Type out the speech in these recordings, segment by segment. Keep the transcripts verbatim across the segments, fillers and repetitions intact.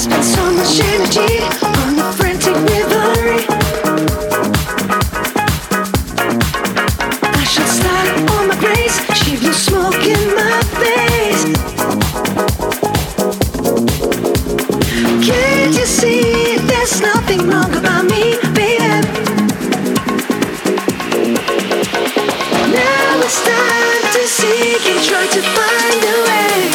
spent so much energy on the frantic revelry. I should start on my grace. She blew smoke in my face. Can't you see there's nothing wrong about me, baby? Now it's time to seek and try to find a way.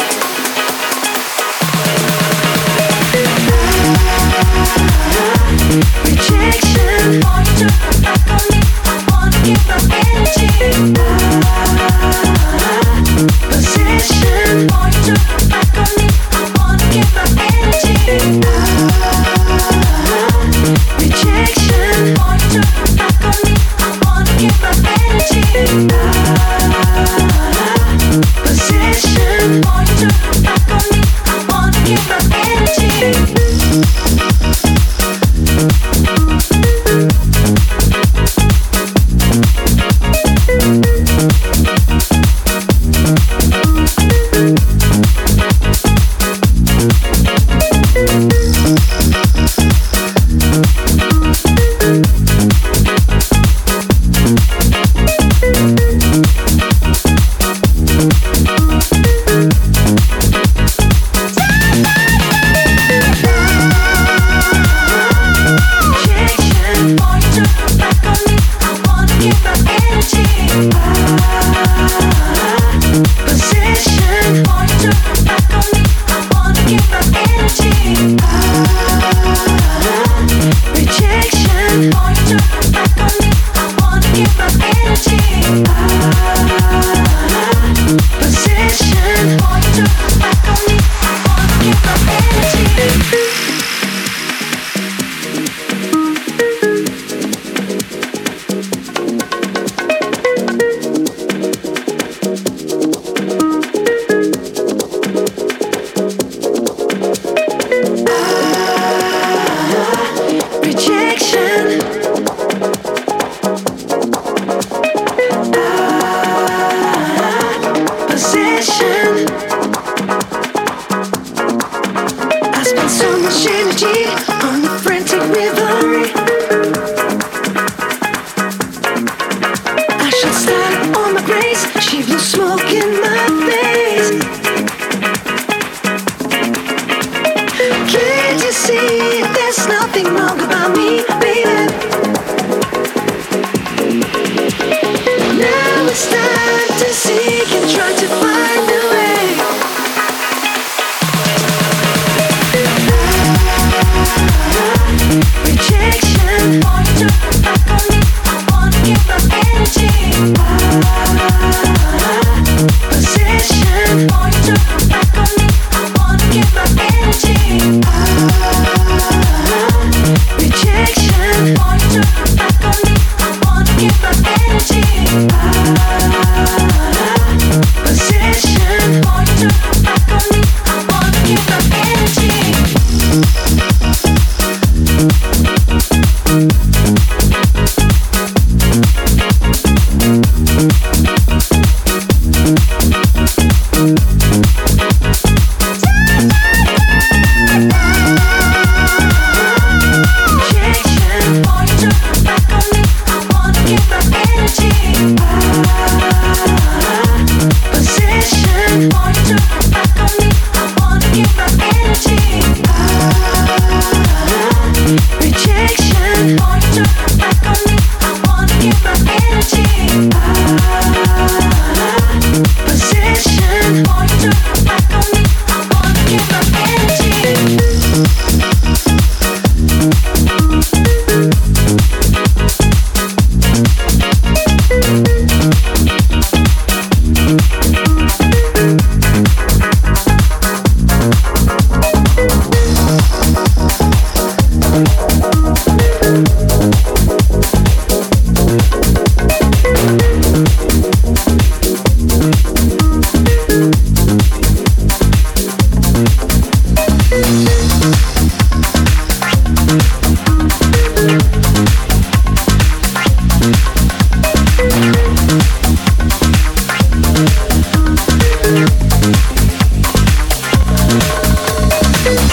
Rejection. Boy, you turn back on me. I wanna give my energy. Possession. Boy, you turn back on me. I wanna give my energy. Rejection. Boy, you turn back on me. I wanna give my energy. Possession. Boy, you turn back on me. I wanna give my energy. Nothing wrong.